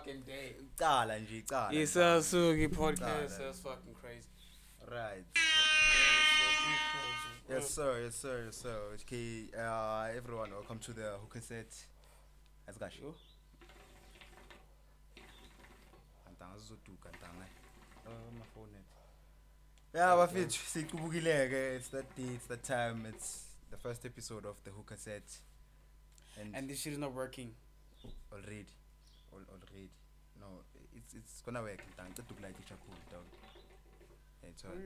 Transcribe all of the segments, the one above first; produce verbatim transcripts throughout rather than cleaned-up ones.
fucking day. Cala nje, cala. It's a Sugi podcast. That's fucking crazy. Right. Crazy. Yes, sir. Yes, sir. Yes, sir. Okay, uh, everyone, welcome to the Hookah Set. Asgash. Yo. Kantanga zizoduka kantanga. Oh, my phone. Yeah, but fit sikubukileke. It's that day. It's that time. It's the first episode of the Hookah Set. And, And this shit is not working. already, Al- already. No, it's it's gonna work. Kantanga. It's like it's cool, dog. It's all.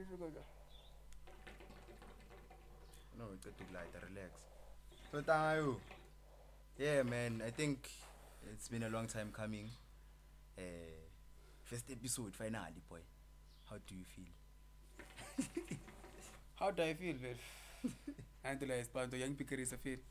No, it's too light. Relax. So thank you. Yeah, man. I think it's been a long time coming. Uh, first episode finally, boy. How do you feel? How do I feel, man? Until I spent the young picker is a feel.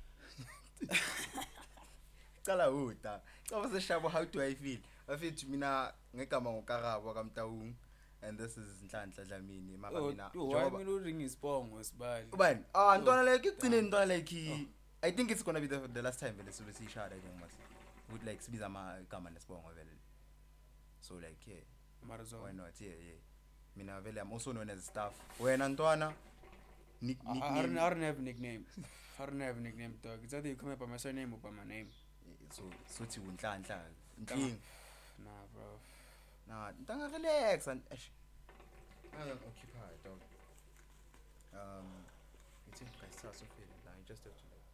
Cala uta. How how do I feel? I feel to mina ngekama ngokarabo kamtaung. And this is Nhlanhla Dlamini. Mara Oh, mina. oh, why me not ring his phone was bad. Ubani? Ah, Oh, ntwana like it's damn. in ntwana like he. I think it's gonna be the the last time vele sobe sishada I think mas. Would like sibiza ama igama nesibongo vele. So like yeah. Marazo. Why not? Yeah, yeah. Mina vele I'm also known as staff. Wena ntwana nick I, I, I, don't, nickname. I don't have a nickname. I don't have a nickname, dog. It's either you come up by my surname or by my name. So sothi unhlanhla. Nking. Nah, bro. Nah, ntanga relax and ash. I am occupied, dog. Um, it's in guys start so feeling. Nah, you just have to like.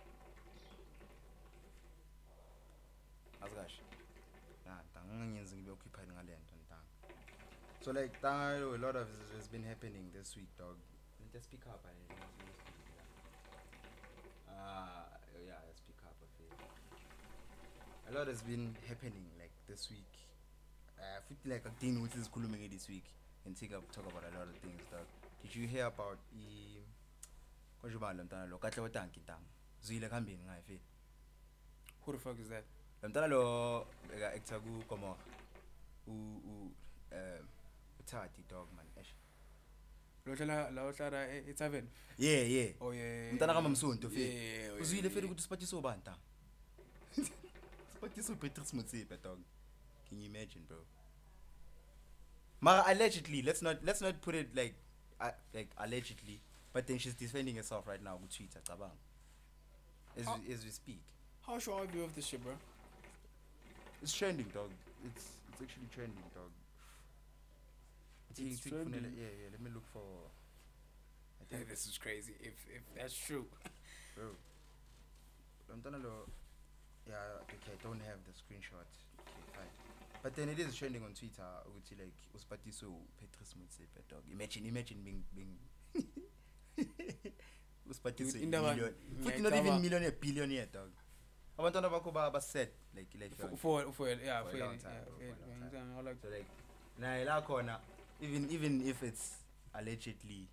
Asgash. Nah, ntanga ngenzi ngibe occupied ngale nto ntanga. So like ntanga a lot of this has been happening this week, dog. Just speak up, I Ah, yeah, let's pick up a few. A lot has been happening like this week. Uh, I feel like a thing which is cool this week and take up talk about a lot of things. Dog. Did you hear about the? Konjubalo mtana lo kahle watanki tang. Zwile kambini ngai fe. Who the fuck is that? Mtana lo eka actor ku komo. U u um utati dog man. Eish. Lotla la lotla it's seven. Yeah, yeah. Oh yeah. Mtana kama msonto fe. Yeah. Uzwile fe ukuthi siphathiso banta. Siphathiso Patrice Motsepe dog. Can you imagine, bro? Mara allegedly, let's not let's not put it like uh, like allegedly, but then she's defending herself right now with Twitter, tabang. As How- we, as we speak, How sure are you of this shit, bro? it's trending, dog. It's it's actually trending, dog. It's Think- think trending. funela- Yeah, yeah. Let me look for. I Hey, think, this is crazy. If if that's true. bro. I'm done Yeah, okay. I don't have the screenshot. Okay, fine. But then it is trending on Twitter. Which like Uspatiso Patrice Motsepe, dog. Imagine, imagine being being. Uspatiso Dude, indaba- million. yeah, Futhi not even cover- millionaire, billionaire, dog. Abantwana bakho ba ba set like like For dog. for for yeah For a for long yeah, time, bro, for for a yeah, long for yeah, I like So like, nah, la corner. Even even if it's allegedly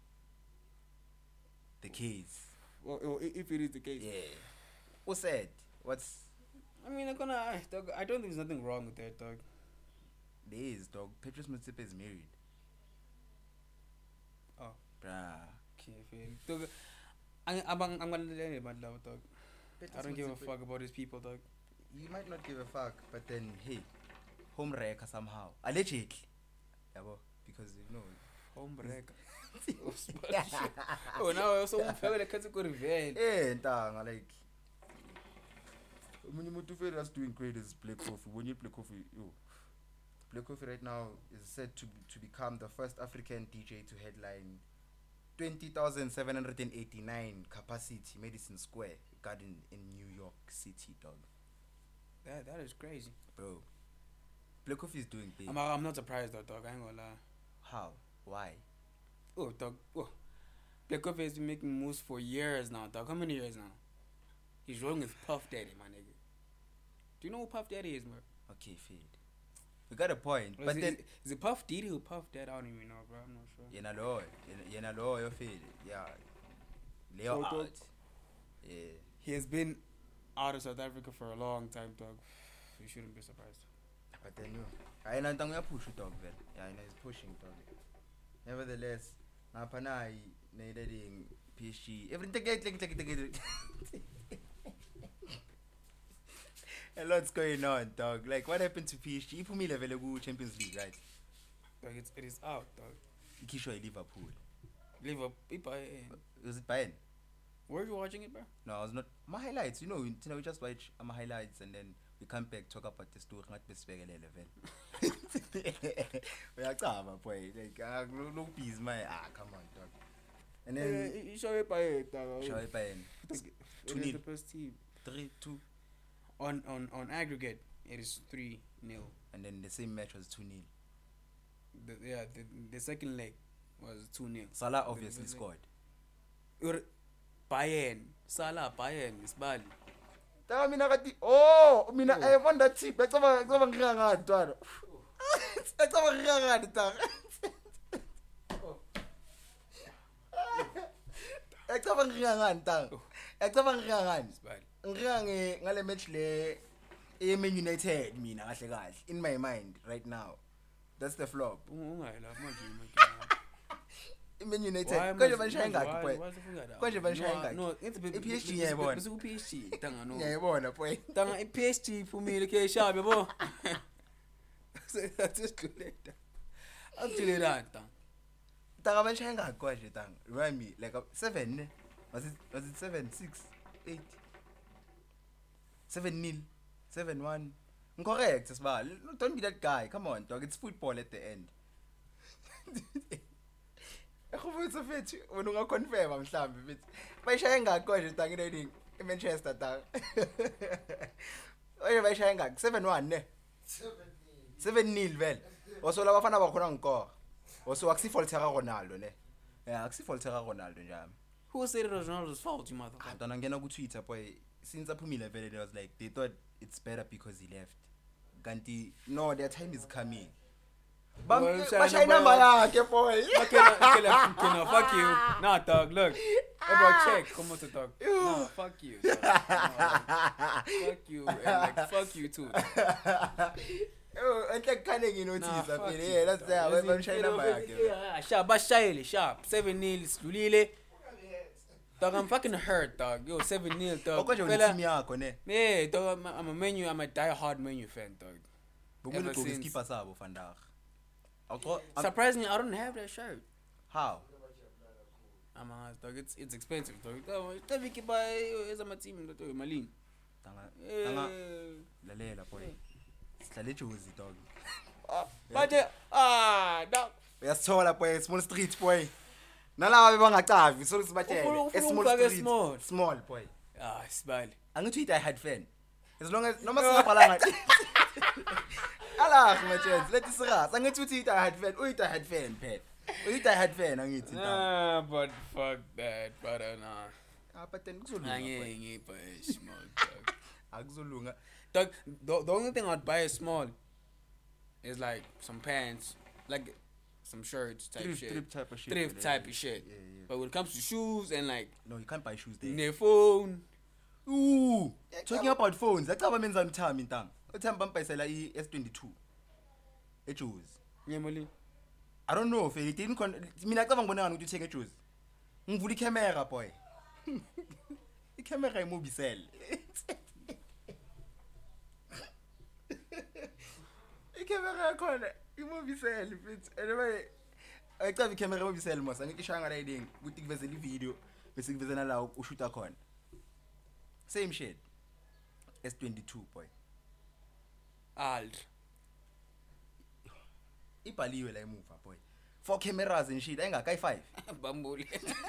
the case, or, or if it is the case. yeah. Who said? What's I mean, I'm gonna I, dog, I don't think there's nothing wrong with that, dog. there is, dog? Patrice Motsepe is married. Oh. Bruh. Okay, fair. Dog, I, I'm I'm gonna let it about love, dog. I don't give a fuck about these people, dog. You might not give a fuck, but then hey, home wrecker somehow. Allegedly. Yeah, well, because you know. Home breaker. Oh, now I also feel like it's a good event. Eh, ntanga like. When you motivate us doing great is Black Coffee. When you play coffee, yo. Black Coffee right now is said to to become the first African D J to headline twenty thousand seven hundred eighty-nine capacity Madison Square Garden in New York City, dog. That that is crazy. Bro, Black Coffee is doing big. I'm I'm not surprised though, dog. I ain't gonna lie. How? Why? Oh, dog. Oh, Black Coffee has been making moves for years now, dog. How many years now? He's rolling with Puff Daddy, my nigga. Do you know who Puff Daddy is, bro? Okay, fade. We got a point, Or but is then it, is it Puff Daddy or Puff Daddy? I don't even know, bro. I'm not sure. yena lo, yena lo yo fade. Yeah. Leo So, dog, out. Yeah. He has been out of South Africa for a long time, dog. You shouldn't be surprised. But then you, I know ntanga ya push dog vele. Yeah, I know he's pushing dog. Nevertheless, ngapha nayi needing P S G. Everything take take take take. A lot's going on, dog. Like, what happened to P S G? Iphumile vele ku Champions League, right? Dog, it's, it is out, dog. Ikishwa Liverpool. Liverpool. Bayern. Was it Bayern? Were you watching it, bro? No, I was not. My highlights, you know, you know, we just watch my highlights and then we come back talk about the story. Not best level. We are cover, boy. Like, ah, no peace, my ah, come on, dog. And then you show it Bayern, dog. show it Bayern. Two nil. The first team. Three two. On on on aggregate, it is three nil. And then the same match was two nil. The, yeah, the, the second leg was two nil. Salah obviously scored. Ur- Bayern, Salah, Bayern, Isbali. Tanga mina kati oh mina I wonder tip ecaba ecaba ngiya ngani ntwana. Ecaba ngiya ngani tanga. Ecaba ngiya ngani tanga. Ecaba ngiya ngani Isbali. Ngiya nge ngale match le e Man United mina kahle kahle in my mind right now. That's the flop. Ungayila manje manje. Man United konje banishaya ngakho boy. Konje banishaya ngakho. No, it's I P S G yayibona. Bese ku P S G tanga no. Ngiyayibona boy. Tanga I P S G iphumile ke shabe yabo. Sesiquleta. Akujilelana tanga. Tanga banishaya ngakho konje tanga. Remind me like uh, seven ne? Was it was it seven, six, eight? seven nil, seven one. Correct, Sibali. Don't be that guy. Come on, dog. It's football at the end. I hope it's a fit. When you confirm, I'm sure. But shaya ngakho nje tanga reading Manchester tanga. Oye ba shaya ngakho seven one ne? seven nil vele. Oso la bafana bakhona ngikho. Oso akusifoltera Ronaldo ne. Yeah, akusifoltera Ronaldo njami. Who said it was Ronaldo's fault, you motherfucker? Dona ngena ku Twitter boy. Since aphumile vele they was like they thought it's better because he left. Kanti no, their time is coming. Bam, bashay number yakhe boy. Okay, okay, okay, fuck you. Nah, dog, look. Hey, bro, check. Come on to talk. Nah, fuck you. Dog. No, fuck you. And like, fuck you too. Oh, and like kind of you notice up in here. That's there. When bashay number yakhe. Sharp, bashayele, sharp. seven nil, Lulile. Dog, I'm fucking hurt, dog. Yo, seven nil, dog. Okwaje team yakho ne. Yeah, dog, I'm, I'm a menu, I'm a die-hard menu fan, dog. Ever since keeper sabo vandag. Surprisingly, I don't have that shirt. How? I'm a dog. It's it's expensive, dog. Tell me to buy as a team, dog. Malin. Tanga. Tanga. Lalela boy. Sihlale juzi dog. But ah, dog. Uyasithola boy, small street boy. Nalawa bangacavi, so sibatshele. A small street. Small. Small boy. Ah, Isbali. Angithi I had fan. As long as noma singabhala ngathi. Ala ngachance, let isirasa. Angithi uthi I had fan, uyithi I had fan phela. Uyithi I had fan angithi. Nah, but fuck that, brother. Nah. Ah, but then kuzolunga. Angeke buy small, dog. Akuzolunga. Dog, the, the only thing I'd buy is small is like some pants, like some shirts type Thrift, shit. thrift type of shit. Thrift Yeah, type yeah, of shit. yeah, yeah. But when it comes to shoes and like No, you can't buy shoes there. their phone, Ooh, talking about phones. Acaba menza umthami ntanga. Uthami bampayisela I S twenty-two. Ejuice. Nyemali. I don't know if it didn't con mina acaba ngibona ngani ukuthi uthenge ejuice. Ngivula i-camera boy. I-camera imobisele. I-camera yakhona imobisele mfethu. Anyway, ayicaba i-camera imobisele mos. Angithi ishaya ngala iding ukuthi kuvezela i-video bese kuvezela la ushuta khona. Same shit. S twenty-two boy. Alt. Ibhaliwe la emuva boy. Four cameras and shit. Ayingaka i-five. Bambuli.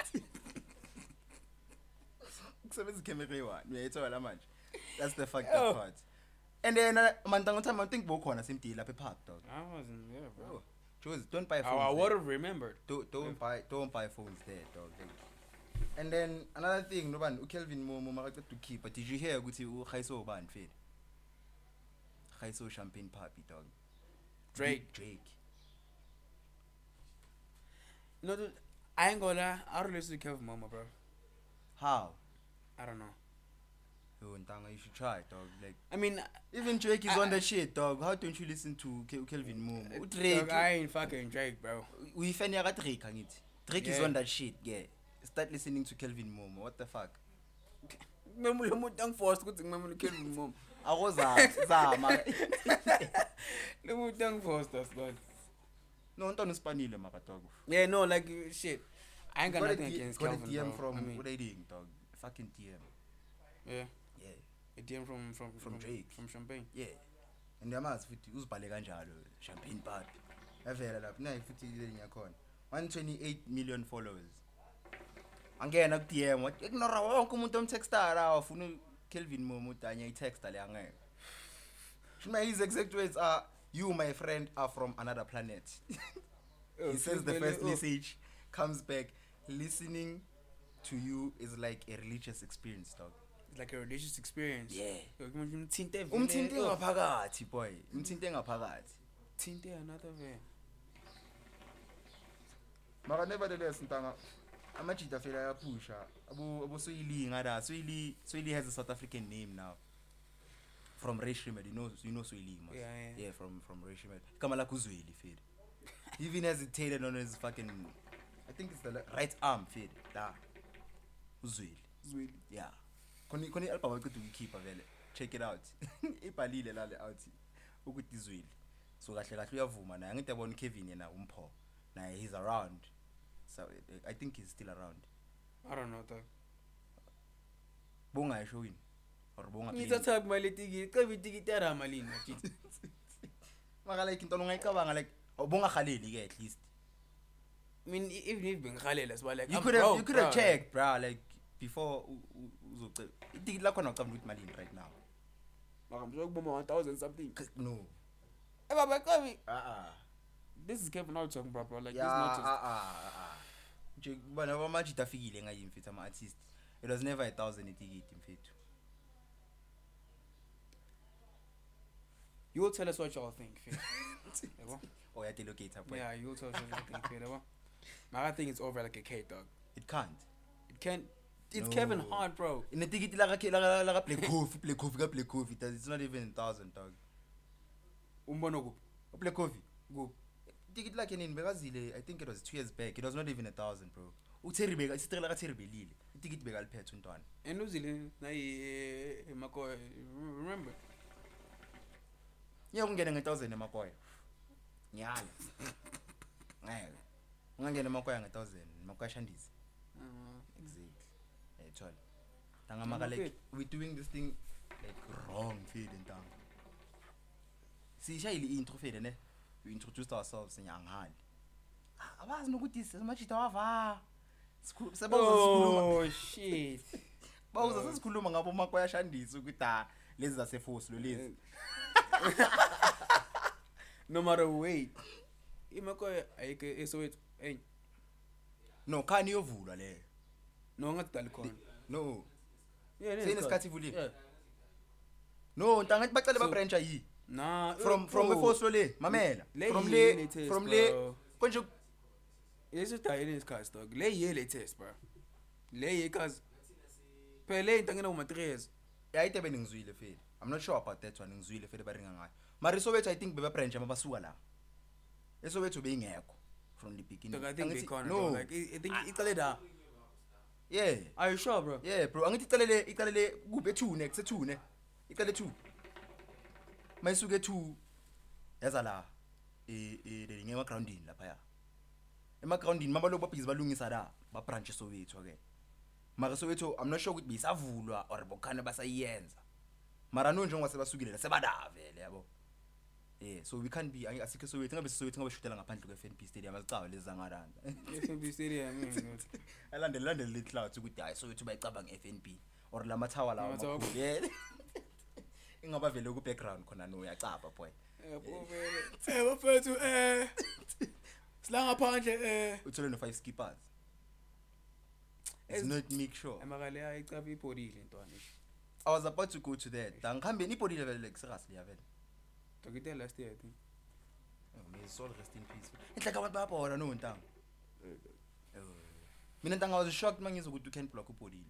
Kusebenza camera eyi-one. Uyayithola manje. That's the fucked up part. And then uh, mantanga time I think bokhona simdile lapha epark dog. I wasn't there, bro. Oh, Jules, don't buy I, phones. I there. would have remembered. Don't don't buy don't buy phones there dog. And then another thing no ban uKelvin Momo makaqeda to keep but did you hear ukuthi uGhaiso ubani fela? Ghaiso champagne puppy dog. Drake. Drake. No, dude, I ain't gonna lie. I don't listen to Kevin Mama, bro. How? I don't know. Yo, Ntanga, you should try, dog. Like, I mean, even Drake is I, on that shit, dog. How don't you listen to Ke- Kelvin Momo? uh, Drake, dog, I ain't fucking Drake, bro. we fan yaga Drake, angithi. Drake is Yeah. on that shit, yeah. Start listening to Kelvin Momo. What the fuck? Remember the mood I'm forced to go to Kevin Mama. Akoza zama. Look what done for us, but No, Anton Spanile mara dog. yeah, no, like shit. I ain't got Got a nothing D- against got a Calvin, D M bro. from I mean, what they doing, dog? Fucking D M. yeah, Yeah, a D M from from From Drake. from Champagne. yeah. And yamazi futhi uzibhale kanjalo champagne party. Yavela lapha nayi futhi ile yakhona. one hundred twenty-eight million followers. Angena ku D M wathi ignore wonke umuntu omtextara ufuna Kelvin Momo tanya i-texta le angeke. Shuma his exact words are, you my friend are from another planet. He says the first message comes back, listening to you is like a religious experience, dog. It's like a religious experience. Yeah. Umthinte Umthinte ngaphakathi boy, umthinte ngaphakathi. Tinte another way. Mara nevertheless ntanga amajita fela yapusha. Abo abo Soili ngada. Soili Soili has a South African name now. From Ray Shrimad, you know you know Soili. Yeah, yeah. Yeah, from from Ray Shrimad. Kama la kuzweli fed. He even hesitated on his fucking, I think it's the le- right arm fed. Da. Uzweli. Zweli. Yeah. Koni koni album ukuthi uyikhipha vele. Check it out. Ibhalile la le out. Ukuthi izweli. So kahle kahle uyavuma naye ngithi yabona Kevin yena umpho. Naye he's around. So uh, I think he's still around. I don't know, dog. Bonga yisho wini. Or bonga Ngitsa tag my litigi, kabi tigi tera malini machiti. Maka like into ngayicabanga like bonga Khaleli ke at least. I mean, even if been Khalil as well, like You I'm could have broke, you could have bro. checked, bro, like before uzoce. Itiki lakho nawucabanga ukuthi malini right now. Like I'm joking about one thousand something. No. Hey, Baba, come here. Uh-uh. This is Kevin Hart talking, bro, bro. Like Yeah, this not just. uh-uh, uh-uh. Nje bana bamajita fikile ngayi mfethu ama artist. It was never a thousand itikiti mfethu. You will tell us what y'all think, Phil. Yabo? Oh, yeah, locate up. Yeah, you will tell us what you think, Phil. Yabo? Man, I think it's over like a K, dog. It can't. It can't. It's No. Kevin Hart, bro. In the ticket la ka la la play coffee, play coffee, ka play coffee. It's not even a thousand, dog. Umbono go. Play coffee. Go. Ticket like in Begazile, I think it was two years back. It was not even a thousand, bro. Utheri bega, isitela ka Theri belile. Ticket bega liphethe untwana. And New Zealand, na i Mako, remember? Yeah, ungena nge-thousand emakoya. Nyala. Ngeke. Ungangena emakoya nge-thousand, emakoya shandisi. Uh, Exactly. Eh, tshwala. Tanga maka like we doing this thing like wrong feed and tang. Sishayile intro feed ne. We introduced ourselves nyangani. Abazi nokuthi simajita wava. Sebaza sikhuluma. oh, shit. Bawuza sesikhuluma ngabo makoya shandisi ukuthi ah lezi zase force lo lezi. No matter wait. Imako ayike so it hey. No, khani yovulwa le. No ngathi dali khona. No. Yeah, Sine isikhathi ivulile. Yeah. No, ntangathi bacela ba So- branch ayi. Nah, From uh, from oh, the force lo le, mamela. Le From yi le latest, from le bro. konje This is the this cars dog. Le ye latest, bro. Le ye cause Pele intangena uma three years. yayite beningizwile fela. I'm not sure about that one ngizwile fela baringa ngayo. Mara Soweto I think beba branch amabasuka la. eSoweto beyingekho from the beginning. Dog, I think they corner, no. bro. Like I I think icale da. Yeah. Are you sure, bro? Yeah, bro. Angithi icalele icalele kuphi two next two ne. Icale two. Mayisuke two yaza la eh eh ngema groundini lapha ya. Ema groundini mama lo babhizi balungisa la ba branch eSoweto ke. Mara Soweto I'm not sure ukuthi bisavulwa or bokhana basayenza. Mara no njengoba sebasukile sebada vele yabo. Yeah, so we can't be asikho Soweto ngabe Soweto ngabe shutela ngaphandle kwe F N B stadium azicawa lezi zangaranda. F N B stadium man. Alandele landele le clouds ukuthi hayi Soweto bayicabanga F N B or la mathawa lawo. Amathawa. amakhulu. Yeah. Ingaba vele ku background khona no uyacapha boy. Eh, bo vele. Eh, bafethu eh. Silanga phandle eh. Uthole no five skippers. It's Ez- not make sure. Emakale ayicaba ibhodile ntwana. I was about to go to that. Dangihambe ibhodile vele like seriously ya vele. Dokite last year I think. Oh, may his soul rest in peace. Inhlaka abantu bayabona no ntanga. Eh. Mina ntanga I was shocked mangizwa ukuthi you can block ubhodile.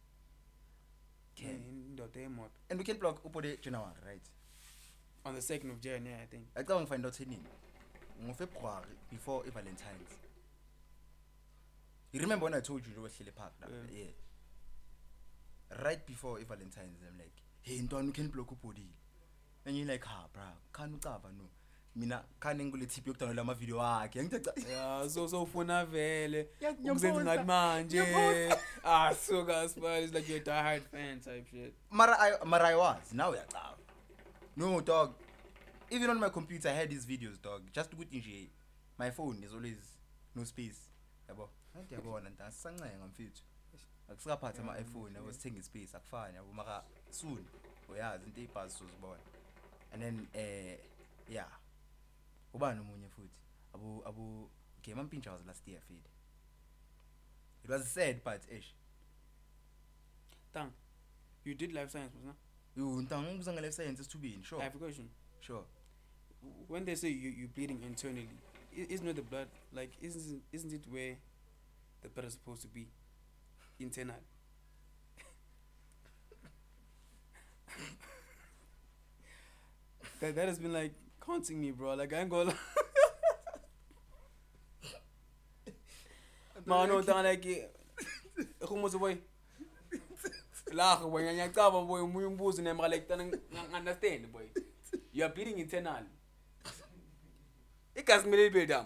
Can. Indoda emoto. And we can block ubhode January, right? On the second of January, I think. I can't find out nini. Ngo February before Valentine's. You remember when I told you you were Shile Park? Yeah. Yeah. Right before Valentine's, I'm like, hey ntwana you can block ubody and you like ha bra khani ucava no mina khani ngikule tip yokudownload ama video akhe ngithi yeah so so ufuna vele Yeah, ukuzenza ngathi manje Ngiyaposta. ah so guys man it's like you're a diehard fan type shit. mara I mara I was now uyacava no dog even on my computer I had these videos dog just ukuthi nje my phone is always no space yabo hayi yabona nta sisancenga mfethu akusikaphatha ama iPhone yabo sithenga space akufani yabo maka soon uyazi into ibhasi sozibona and then eh yeah ubani umunye futhi abu abu game ampintsha was last year feed it was sad but ish Tang, you did life science was no? you ntanga ngibuza nge life science esithubeni sure I have a question. sure When they say you you bleeding internally, i- isn't it the blood like isn't isn't it where the blood is supposed to be internal? that that has been like haunting me, bro. Like I ain't gonna. Man, no, down like who was away. La, boy, and yakaba boy, muyumbuzi and like understand, boy. You are bleeding internal. It can smell bit down.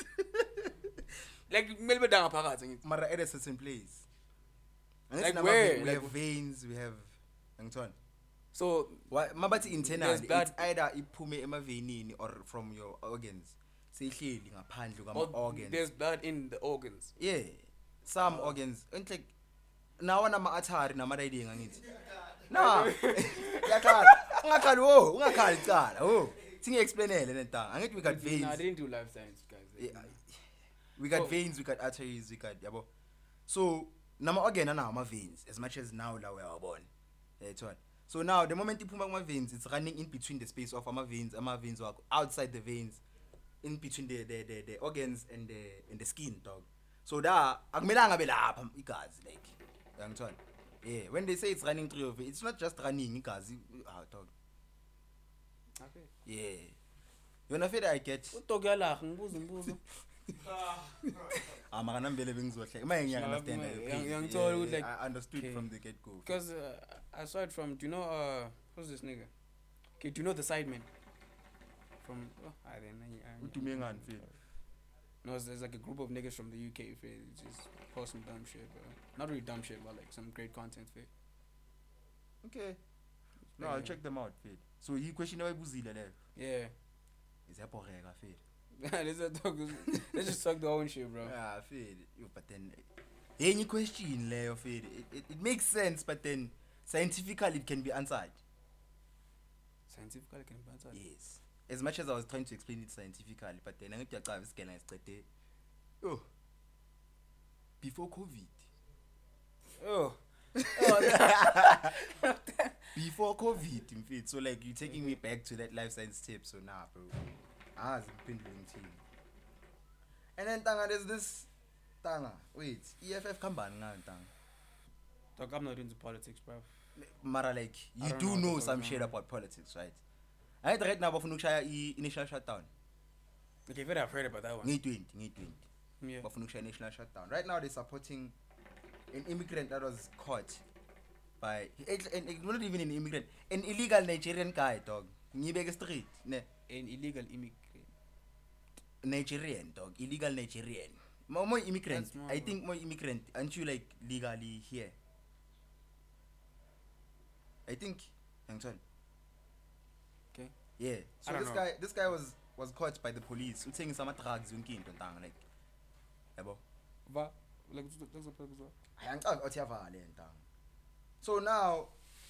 Like maybe down apart. mara at a certain place Like Unless where? we Like- have veins we have ngithona So why mabathi internal There's blood- it's either iphume emavenini or from your organs seyihleli ngaphandle kwama oh, organs there's blood in the organs. yeah some organs like nawo nama artery nama riding angithi na yakhala ungakhali wo ungakhali cala wo singe explainele lentanga angithi we got No, I veins didn't do life science, guys. Yeah, we got Oh. veins we got arteries we got yabo so nama organ ana ama veins as much as now la uyawabona yayithona so now the moment iphuma kuma veins it's running in between the space of ama veins ama veins wakho outside the veins in between the the the, the organs and the and the skin dog so da akumelanga be lapha igazi like yangithona yeah when they say it's running through your veins it's not just running igazi ah dog Okay. yeah yona feda I get Udog yala ngibuza imibuzo. ah mara nambele bengizohle maye ngiya understand Sure, your yang- pain. yang Yeah, told you, yeah, like, I understood okay. from the get go Because uh, aside from, do you know uh who's this nigga? Okay, do you know the Sidemen? From oh, I don't know. I- udume ngani feel No, it's- there's like a group of niggas from the U K. Feel just post some dumb shit, bro. Not really dumb shit, but like some great content. Feel. okay no I'll Yeah. check them out feel so yi question awayibuzile leyo Yeah. izaboreka feel let's just talk. Let's just talk the own shit, bro. yeah feel you but then yenye question leyo feel it, it, it makes sense but then scientifically it can be answered Scientifically, can be answered. yes as much as I was trying to explain it scientifically but then angithi yacava isigela ngisicede oh before covid Oh. before covid mfethu so like you taking me back to that life science tip so nah bro azi ngiphendule ngithini and then tanga there's this tanga wait E F F kambani ngayo tanga Dog, I'm not into politics, bro. mara like I you don't do know what know the some fuck shit going on. about politics right I right now bafuna ukushaya i-national shutdown Okay, very I've heard about that one. ngiyi-twenty ngiyi-twenty Yeah. bafuna ukushaya national shutdown right now they're supporting an immigrant that was caught by and, and not even an immigrant an illegal Nigerian guy dog ngiyibeke straight ne An illegal immigrant. Nigerian dog illegal Nigerian more, more immigrant That's more I of a- think more immigrant aren't you like legally here I think Anton Okay. yeah I so don't this know. guy this guy was was caught by the police uthengisa ama drugs yonke into ntanga like yabo Va, like that's a purpose. ayangicanga uthi yavale ntanga so now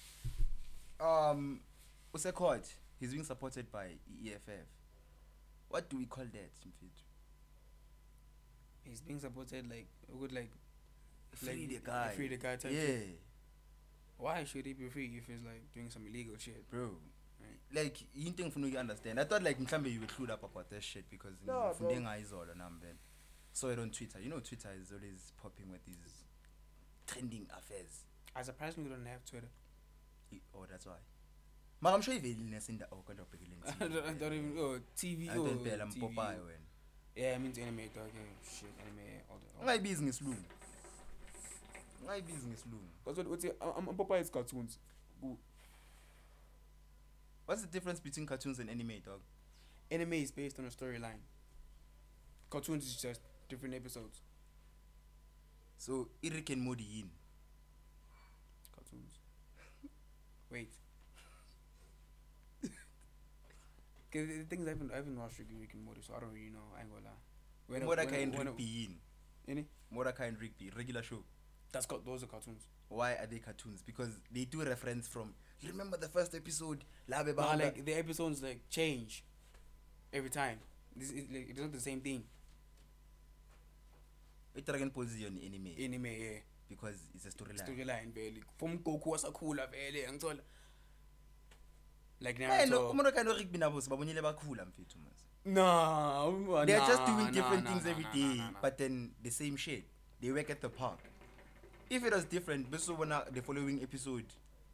um use court he's being supported by E F F what do we call that mfethu He's being supported like would like free like, the guy free the guy type yeah shit. Why should he be free if he's like doing some illegal shit? bro Right. like into engifuna uku understand I thought like mhlambe you were clued up about that shit because No, ngifunde bro. ngayizolo nami then saw it on Twitter you know Twitter is always popping with these trending affairs I surprised me we don't have Twitter. I- oh that's why mara I'm sure ivelile nesinda oh kanti ubhekile I don't, I don't even oh T V I oh don't phela T V. mpopayi wena Yeah, I mean anime dog. Yeah, shit, anime all the. All ungayibizi ngesilungu ungayibizi ngesilungu Because what what's it? I'm I'm Popeye's cartoons. Ooh. What's the difference between cartoons and anime, dog? Anime is based on a storyline. Cartoons is just different episodes. So Rick and Morty in. Cartoons. Wait. Cause the thing is, I haven't, I haven't watched Rick, Rick and Morty, so I don't really know. I ain't gonna lie. When I- Mordecai when I- and when I- Rigby in. Any? Mordecai and Rigby, regular show. That's got those are cartoons. Why are they cartoons? Because they do reference from. You remember the first episode? Labe But Bahanga? like the episodes like change every time. This is like it's not the same thing. With Dragon Ball Z on anime. Anime, yeah. Because it's a storyline. Storyline vele. From Goku wasakhula vele angithola. Like Hey, no, Naruto. Mordecai and Rigby nabo sibabonile bakhula mfethu mas. Nah, They're nah, just doing nah, different nah, things nah, every nah, day, nah, nah, nah. but then the same shit. They work at the park. If it was different, this one the following episode.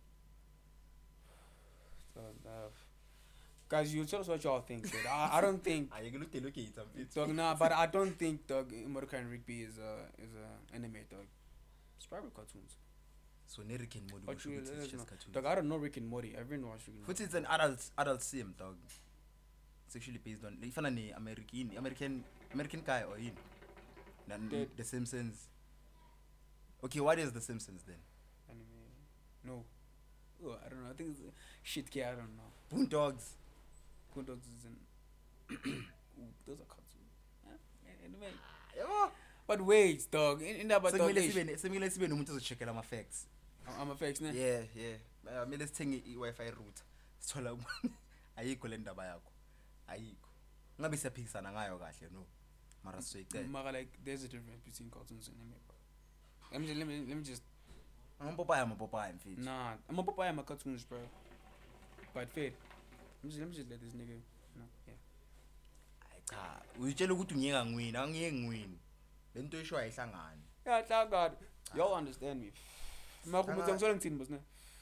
So, uh, guys, you tell us what y'all think. Dude. I, I don't think. Are you gonna look at it? Dog, nah, but I don't think dog Mordecai and Rigby is a is a anime dog. It's probably cartoons. So Rick and Morty, But you, it's let us know. just cartoons. Dog, I don't know Rick and Morty. I've been watching. Rick and But Morty. it's an adult adult sim, dog. It's actually based on if an American American American guy or in Nan- Dead. The Simpsons. Okay, what is The Simpsons then? Anime. No. Oh, I don't know. I think it's shit. Kid, I don't know. Boondogs. Boondocks is in. Ooh, those are cartoons. Yeah, anime. Yabo. But wait, dog. In, in that, but dog, Sekumele ish. sibe sekumele sibe nomuntu ozocheckela ama facts. I'm- I'm a fake, ne? Yeah, yeah. Uh, Mele sithenge i-Wi-Fi router. Sithola ayikho le ndaba yakho. Ayikho. Ngabe siyaphikisana ngayo kahle no. Mara sizoyicela. Mara, like, there's a difference between cartoons and anime, bro. Let me just, let me, let me just. Amapopaya amapopaya mfethu. Nah, I'm a papaya, my cartoons, bro. But fair. Let me just, let me just let this nigga. No, yeah. Hayi cha, uyitshela ukuthi ungiyeka ngwini, angiyeki ngwini. Lento esho ayihlangani. Yeah, thank God. Y'all understand me. Makumutsa ngisola ngithini boss ne?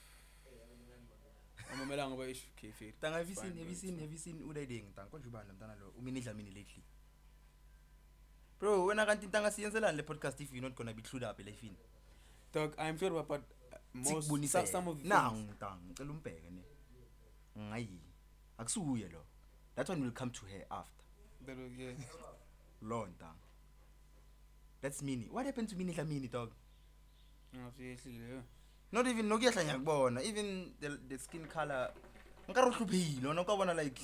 Amamelanga ba ish okay fair. Tanga, have you Fine, seen, have bro, you it's seen, fine. have you seen Udayideng tanga? Konje ubani mntana lo? Umini Dlamini lately. Bro, wena kanti tanga siyenzelani le podcast if you're not gonna be clued up elefini? Dog, I'm sure about uh, most Sikubonise. some, some of the Nah, things. ngitanga, ngicela umbheke ne. Ngayi. Akusuye lo. That one will come to her after. That was, yeah. Lo ntanga. That's Mini. What happened to Mini Dlamini, dog? No, seriously, yeah. Not even nokuyehla ngiyakubona. Even the the skin color. Ngikaro hluphile, wona ukabona like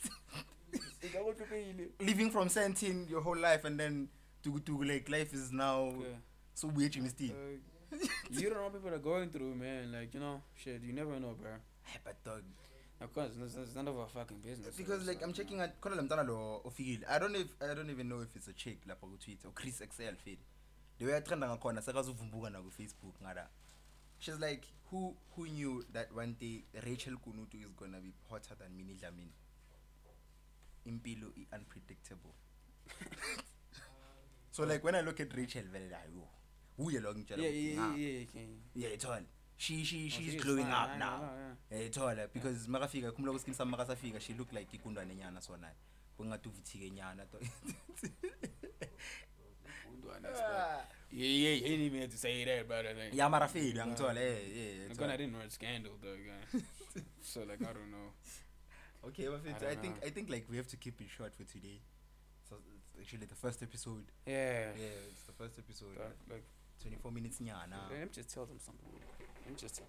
living from seventeen your whole life and then to to like life is now Okay. so weird you still. Uh, you don't know what people are going through, man. Like, you know, shit, you never know, bro. But dog, Of course, it's, it's none of our fucking business. because so like it's I'm like, checking at khona lemntana lo ofikile. I don't know if I don't even know if it's a chick lapha ku Twitter or Chris X L feed. The way I trend ngakhona sekazuvumbuka na ku Facebook ngada. She's like, who who knew that one day Rachel Kunutu is gonna be hotter than Minnie Dlamini? Impilo i unpredictable. So like when I look at Rachel, very like, oh, uye lo ngitshela yeah, ukuthi, yeah, "Nah, yeah, yeah, okay. yeah, it's all. She she Oh, she's she is glowing fine, up I now. know, yeah. Yeah, it's all because makafika kumla kuskin sam makasafika she look like ikundwane nyana sona. Bungathi uvithike nyana to. Yeah, yeah, you didn't even have to say that, but I think. Yeah, mara feel ngithola eh eh. I'm gonna didn't know it's scandal, though, guy. So like, I don't know. Okay, but I I, don't I think know. I think like we have to keep it short for today. So it's actually the first episode. Yeah. Yeah, it's the first episode. Dog, like, twenty-four minutes nyana. let me just tell them something. Let me just tell.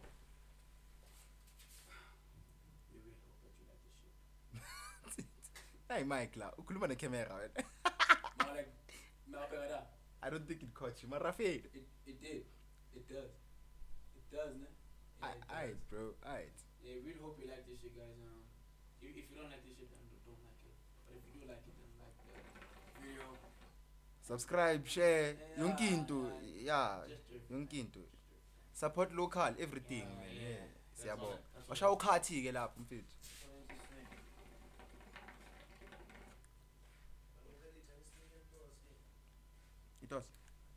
Hey Mike la, ukhuluma ne camera wena. Like, I don't think it caught you. Mara fade. It it did. It does. It does, ne? Alright, bro. Alright. Yeah, really hope you like this shit, guys. Um, if, if you don't like this shit, then don't don't like it. But if you do like it, then like the video. Subscribe, share, Yeah, yonke into. Yeah, Just do it. yonke into. Support local, everything, Yeah, man. yeah. Yeah. That's Siyabonga. all- that's all. Washa ukhathi ke lapho mfethu. It was.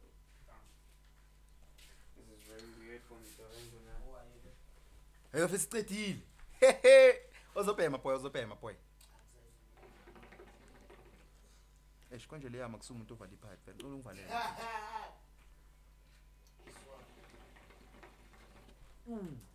This is very weird for me, so I ain't gonna. Hey, office sicedile. Hehe. Ozobhema boy, ozobhema boy. Eh, konje le yama kusuka umuntu ovala ipipe, vele ungivalela. Mm.